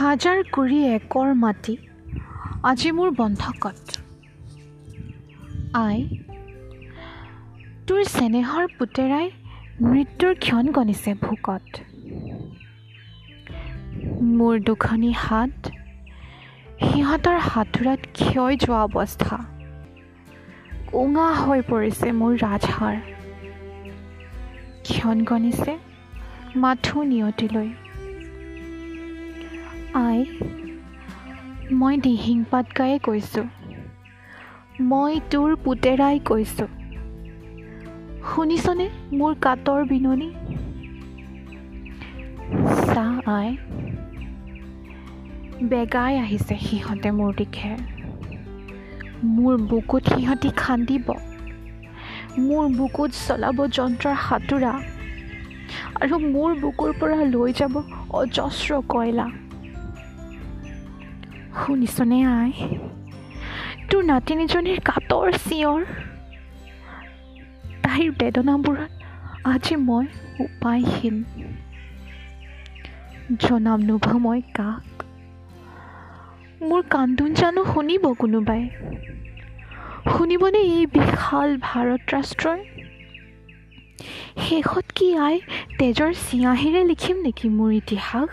হাজাৰ কুৰি একৰ মাটি আজি মোৰ বন্ধকত। আই, তোৰ চেনেহৰ পুতেৰাই মৃত্যুৰ ক্ষণ গণিছে ভোকত। মোৰ দুখনি হাত সিহঁতৰ হাতোৰাত ক্ষয় যোৱা অৱস্থা। কোঙা হৈ পৰিছে মোৰ ৰাজহাড়। ক্ষণ গণিছে মাথো নিয়তিলৈ। আই, মই দিহিং পাত গায়ে কৈছোঁ, মই তোৰ পুতেৰাই কৈছোঁ। শুনিছনে মোৰ কাতৰ বিননি? চা আই, বেগাই আহিছে সিহঁতে মোৰ দিশে। মোৰ বুকুত সিহঁতি খান্দিব, মোৰ বুকুত চলাব যন্ত্ৰৰ হাতোৰা, আৰু মোৰ বুকুৰ পৰা লৈ যাব অজস্ৰ কয়লা। শুনিছনে আই, তোৰ নাতিনীজনীৰ কাতৰ চিঞৰ? তাইৰ বেদনাবোৰত আজি মই উপায়হীন। জনাম নোভা মই কাক? মোৰ কান্দোন জানো শুনিব কোনোবাই? শুনিবনে এই বিশাল ভাৰত ৰাষ্ট্ৰই? শেষত কি আই তেজৰ চিঞাহীৰে লিখিম নেকি মোৰ ইতিহাস?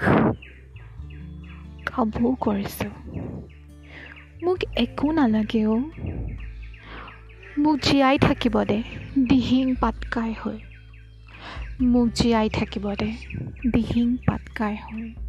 কাবৌ কৰিছোঁ, মোক একো নালাগে অ'। মোক জীয়াই থাকিব দে দিহিং পাটকাই হৈ। মোক জীয়াই থাকিব দে দিহিং পাটকাই হৈ।